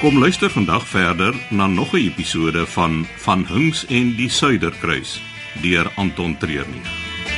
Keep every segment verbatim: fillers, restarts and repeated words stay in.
Kom luister vandag verder na nog 'n episode van Van Hunks en die Suiderkruis deur Anton Treurnig.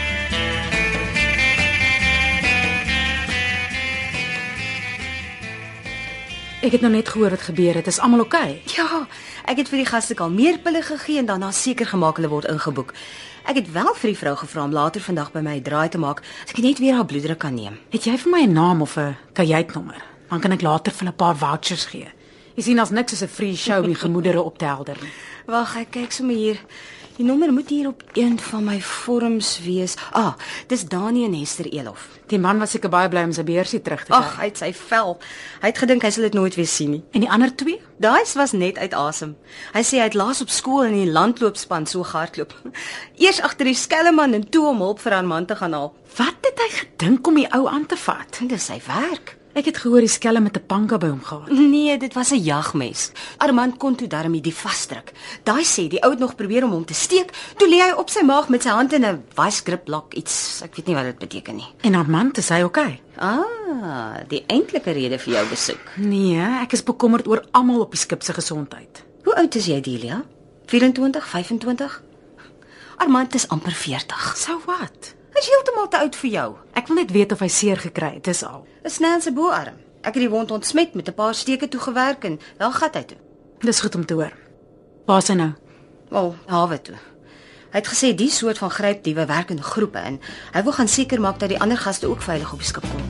Ek het nou net gehoor wat gebeur het. Is almal oukei? Okay? Ja, ek het vir die gaste kalmeerpille gegee en daarna seker gemaak hulle word ingeboek. Ek het wel vir die vrou gevra om later vandag by my 'n draai te maak, as ek net weer haar bloeddruk kan neem. Het jy vir my 'n naam of 'n kajuitnommer? Dan kan ek later vir 'n paar vouchers gee. Jy sien as niks as 'n free show om die gemoedere op te helder nie. Wag, ek kyk sommer hier. Die nommer moet hier op een van my vorms wees. Ah, dis Dani en Hester Elof. Die man was seker baie bly om sy beursie terug te kry. Ag, hy het sy vel. Hy het gedink hy sal dit nooit weer sien nie. En die ander twee? Daai was net uit asem. Hy sê hy het laas op skool in die landloopspan so gehardloop. Eers agter die skelmman en toe om hulp vir haar man te gaan haal. Wat het hy gedink om die ou aan te vat? Dis sy werk. Ek het gehoor die skelm met 'n panka by hom gehad. Nee, dit was 'n jagmes. Armand kon toe darmie die vasdruk. Daai sê die ou het nog probeer om hom te steek, toe lê hy op sy maag met sy hand in 'n vice grip lock iets. Ek weet nie wat dit beteken nie. En Armand, is hy oukei? Ah, die eintlike rede vir jou besoek. Nee, ek is bekommerd oor almal op die skip se gesondheid. Hoe oud is jy, Delia? vyf-en-twintig, vyf-en-twintig? Armand is amper veertig. So wat? Hy is heeltemal te oud vir jou. Ek wil net weet of hy seer gekry het, dis al. 'n Snel in sy boarm. Ek het die wond ontsmet met 'n paar steke toegewerk en wel gat hy toe. Dis goed om te hoor. Waar is hy nou? Wel, hawe toe. Hy het gesê die soort van grypdiewe werk in groepe en hy wil gaan seker maak dat die ander gaste ook veilig op die skip kom.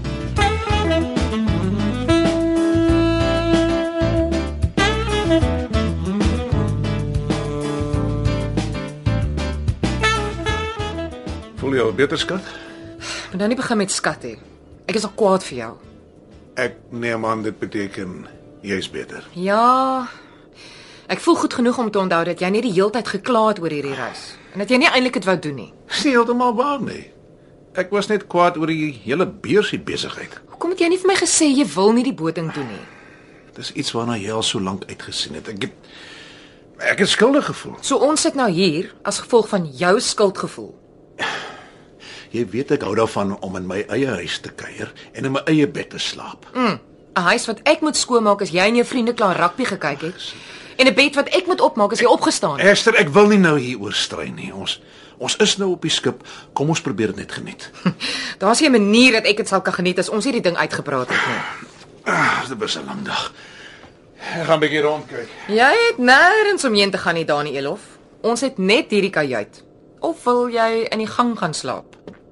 Voel jy al beter, skat? Moet nou nie begin met skat hê. Ek is al kwaad vir jou. Ek neem aan dit beteken jy's beter. Ja. Ek voel goed genoeg om te onthou dat jy nie die heeltyd gekla het oor hierdie reis en dat jy nie eintlik dit wou doen nie. Dis nie heeltemal waar nie. Ek was net kwaad oor die hele beursie besigheid. Hoekom het jy nie vir my gesê jy wil nie die boting doen nie? Dis iets waarna jy al so lank uitgesien het. Ek het ek het skuldig gevoel. So ons sit nou hier as gevolg van jou skuldgevoel. Jy weet ek hou daarvan om in my eie huis te kuier en in my eie bed te slaap. Mm, 'n huis wat ek moet skoonmaak as jy en jou vriende klaar rugby gekyk het. En 'n bed wat ek moet opmaak as jy opgestaan het. Esther, ek wil nie nou hieroor stry nie. Ons ons is nou op die skip. Kom ons probeer dit net geniet. Daar's 'n manier dat ek dit sal kan geniet as ons hierdie ding uitgepraat het nie. Ah, dit was 'n lang dag. Ek gaan 'n bietjie rondkyk. Jy het nêrens om heen te gaan nie, Dani Elof. Ons het net hierdie kajuit. Of wil jy in die gang gaan slaap?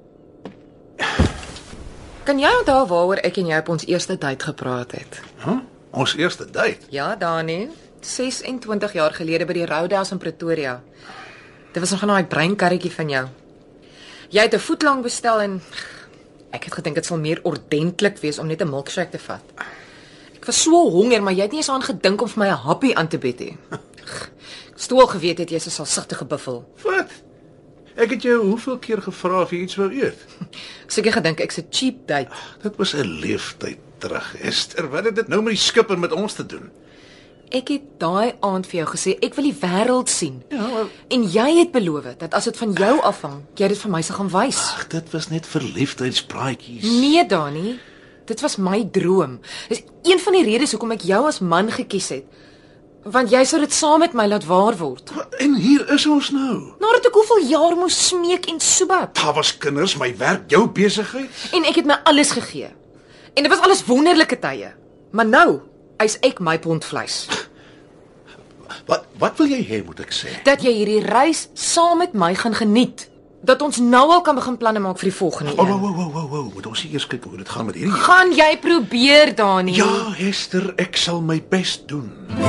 Kan jy onthou waaroor ek en jy op ons eerste date gepraat het? Huh? Ons eerste date? Ja, Dani. ses-en-twintig jaar gelede by die Roadhouse in Pretoria. Dit was nog 'n daai breinkarretjie van jou. Jy het 'n voetlang bestel en ek het gedink dit sal meer ordentlik wees om net 'n milkshake te vat. Ek was so honger, maar jy het nie eens aan gedink om vir my 'n happie aan te bied nie. Ek stoel geweet het jy is 'n salsigtige buffel. Wat? Ek het jou hoeveel keer gevra of jy iets wou eet? Seker gedink ek's 'n cheap date. Dit was 'n leeftyd terug, Esther. Wat het dit nou met die skip en met ons te doen? Ek het daai aand vir jou gesê ek wil die wêreld sien. Ja, maar En jy het beloof dat as dit van jou afhang, jy dit vir my sal gaan wys. ag, dit was net verliefdheidspraatjies. Nee, Dani. Dit was my droom. Dis een van die redes hoekom ek jou as man gekies het. Want jy sou dit saam met my laat waar word. En hier is ons nou. Nadat ek hoeveel jaar moes smeek en soebab. Daar was kinders, my werk, jou besigheid. En ek het my alles gegee. En dit was alles wonderlike tye. Maar nou is ek my pond vleis. Wat wat wil jy hê moet ek sê? Dat jy hierdie reis saam met my gaan geniet. Dat ons nou al kan begin planne maak vir die volgende Oh, een. wow, wow, wow, wow. Moet ons eers kyk hoe dit gaan met hierdie? Gaan jy probeer, Dani? Ja, Esther, ek sal my bes doen.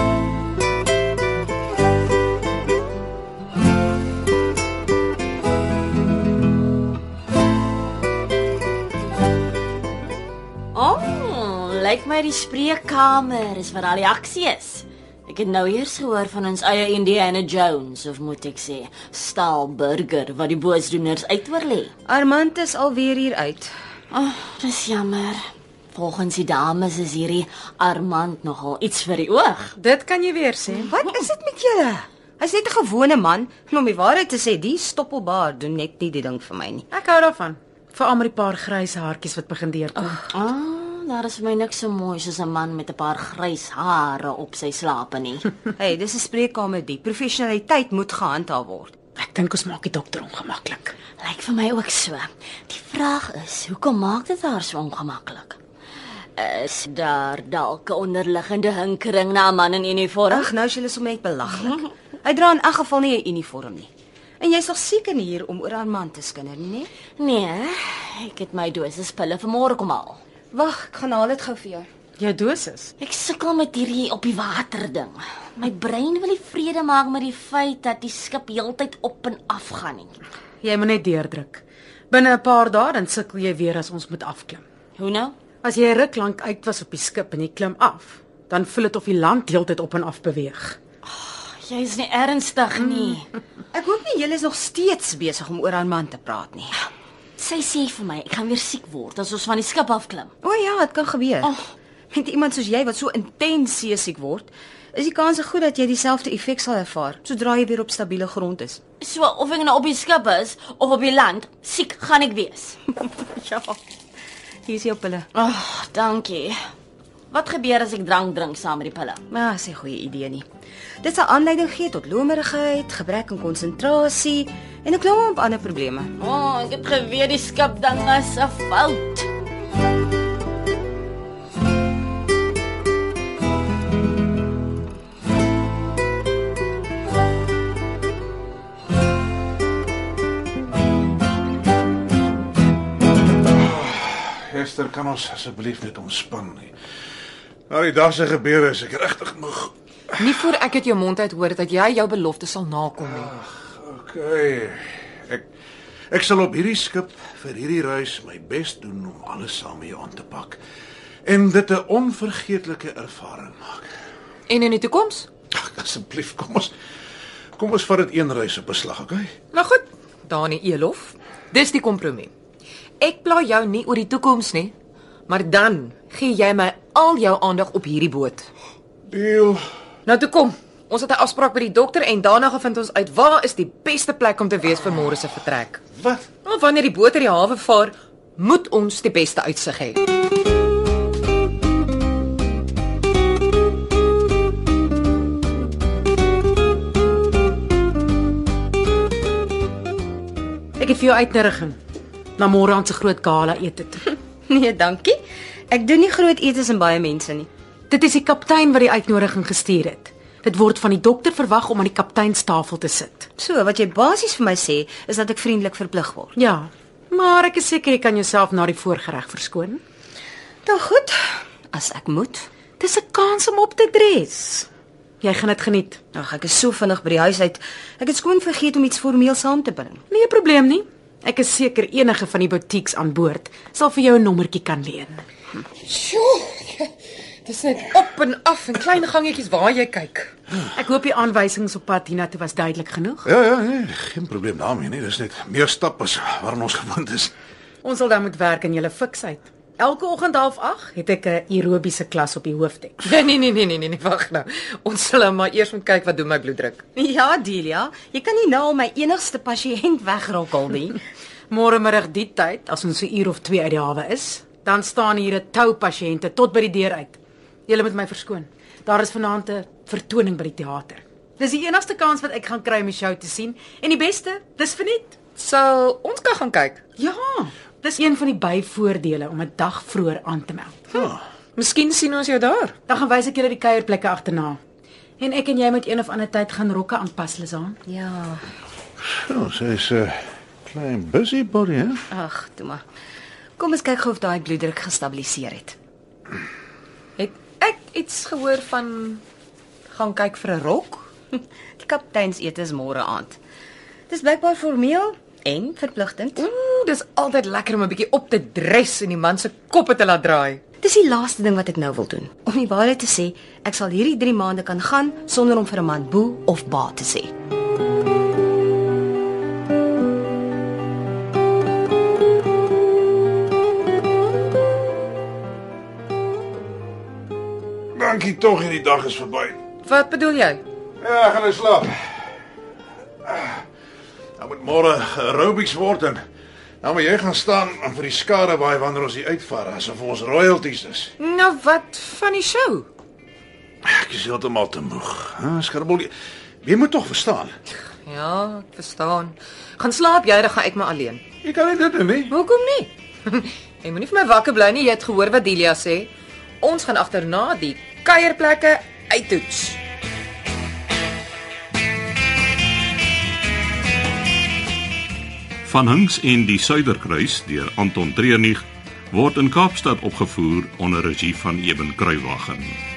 Oh, lyk my die spreekkamer is waar al die aksie is. Ek het nou eers gehoor van ons eie Indiana Jones, of moet ek sê, Staalburger, wat die boosdoeners uitoorlê. Armand is alweer hier uit. Oh, dis jammer. Volgens die dames is hierdie Armand nogal iets vir die oog. Dit kan jy weer sê. Wat is dit met julle? Hy's net 'n gewone man. En om die waarheid te sê, die stoppelbaard doen net nie die ding vir my nie. Ek hou daarvan. Veral met die paar grys haartjies wat begin deurkom. Ah, daar is vir my niks so mooi soos 'n man met 'n paar grys hare op sy slape nie. Hey, dis 'n spreekkamer die. Professionaliteit moet gehandhaaf word. Ek dink ons maak die dokter ongemaklik. Lyk vir my ook so. Die vraag is, hoekom maak dit haar so ongemaklik? Is daar dalk 'n onderliggende hinkering na 'n man in uniform? Ag, nou is julle sommer net belaglik. Hy dra in elk geval nie 'n uniform nie. En jy's nog seker nie hier om oor Armand te skinder nie, nee? Nee, ek het my dosis pille vanmôre kom haal. Wag, ek gaan haal dit gou vir jou. Jou dosis. Ek sukkel met hierdie op die water ding. My brein wil nie vrede maak met die feit dat die skip heeltyd op en af gaan nie. Jy moet net deurdruk. Binne 'n paar dae dan sukkel jy weer as ons moet afklim. Hoe nou? As jy ruk lank uit was op die skip en jy klim af, dan voel dit of die land heeltyd op en af beweeg. Jy is nie ernstig nie. Ek hoop nie julle is nog steeds besig om oor Armand te praat nie. Sy sê vir my ek gaan weer siek word as ons van die skip afklim. O ja, dit kan gebeur. Oh. Met iemand soos jy wat so intens seesiek word, is die kans goed dat jy dieselfde effek sal ervaar sodra jy weer op stabiele grond is. So of ek nou op die skip is of op die land, siek gaan ek wees. Ja. Hier is jou pille. Ag, oh, dankie. Wat gebeur as ek drank drink saam met die pille? Maar dis 'n goeie idee nie. Dit sal aanleiding gee tot lomerigheid, gebrek aan konsentrasie en 'n klomp ander probleme. O, oh, ek het geweet die skip ding is 'n fout. Esther, kan ons asseblief net ontspan nie. Nou die dag se gebeure is ek regtig moeg. Nie voor ek uit jou mond uit hoor dat jy jou belofte sal nakom nie. Okay. Ek ek sal op hierdie skip vir hierdie reis my bes doen om alles saam met jou aan te pak en dit 'n onvergeetlike ervaring maak. En in die toekoms? Ag, asseblief, kom ons kom ons vat dit een reis op 'n slag, okay? Nou goed, Dani Elof. Dis die kompromie. Ek pla jou nie oor die toekoms nie, maar dan gee jy my al jou aandag op hierdie boot. Deal. Nou toe kom. Ons het 'n afspraak by die dokter en daarna gaan vind ons uit waar is die beste plek om te wees vir môre se vertrek. Wat? Nou, wanneer die boot uit die hawe vaar, moet ons die beste uitsig hê. Ek het vir jou uitnodiging na môre aan se groot gala ete toe. Nee, dankie. Ek doen nie groot etes en baie mense nie. Dit is die kaptein wat die uitnodiging gestuur het. Dit word van die dokter verwag om aan die kapteinstafel te sit. So, wat jy basies vir my sê, is dat ek vriendelik verplig word. Ja, maar ek is seker jy kan jouself na die voorgereg verskoon. Dan goed, as ek moet. Dis 'n kans om op te dres. Jy gaan dit geniet. Ag, ek is so vinnig by die huis uit. Ek het skoon vergeet om iets formeel saam te bring. Nie 'n probleem nie. Ek is seker enige van die boutiques aan boord sal vir jou 'n nommertjie kan leen. Sjoe. Dis net op en af en klein gangetjies waar jy kyk. Ek hoop die aanwysings op pad hiernatoe was duidelik genoeg. Ja, ja, nee, geen probleem daarmee nie. Dis net meer stap as waaraan ons gewoond is. Ons sal dan moet werk in julle fiksheid. Elke oggend half agt het ek 'n aerobiese klas op die hoofdek. Nee, nee, nee, nee, nee, nee, wag nou. Ons sal maar eers moet kyk wat doen my bloeddruk. Ja, Delia, jy kan nie nou al my enigste pasiënt wegrokkel nie. Môre middag die tyd, as ons 'n uur of twee uit die hawe is, dan staan hier 'n tou pasiënte tot by die deur uit. Julle moet my verskoon. Daar is vanaand 'n vertoning by die teater. Dis die enigste kans wat ek gaan kry om die show te sien en die beste, dis verniet. Sal ons kan gaan kyk. Ja, dis een van die byvoordele om 'n dag vroeër aan te meld. Ja. Miskien sien ons jou daar. Dan gaan wys ek julle die kuierplekke agterna. En ek en jy moet een of ander tyd gaan rokke aanpas, Lizaan. Ja, So, sy's 'n uh, klein busybody, hè? ag, toe maar. Kom ons kyk gou of daai bloeddruk gestabiliseer het. Het ek iets gehoor van gaan kyk vir 'n rok? Die kapteinsete is môre aand. Dis blykbaar formeel en verpligtend. Ooh, dis altyd lekker om 'n bietjie op te dres en die man se koppe te laat draai. Dis die laaste ding wat ek nou wil doen. Om die waarheid te sê, ek sal hierdie drie maande kan gaan sonder om vir 'n man boe of ba te sê. Dankie tog, hierdie dag is verby. Wat bedoel jy? Ja, ek gaan nou slaap. Nou moet môre aerobics word en Nou maar jy gaan staan en vir die skare waai wanneer ons hier uitvaar, asof ons royalties is. Nou wat van die show? Ek is heeltemal te moeg. Hè, Skribbel, jy, jy moet tog verstaan. Ja, ek verstaan. Gaan slaap jy, dan gaan ek maar alleen. Jy kan nie dit doen nie. Hoekom nie? Jy moenie vir my wakker bly nie, jy het gehoor wat Delia sê. Ons gaan agterna die kuierplekke uittoets. Van Hinks en die Suiderkruis deur Anton Treurnig word in Kaapstad opgevoer onder regie van Eben Kruiwagen.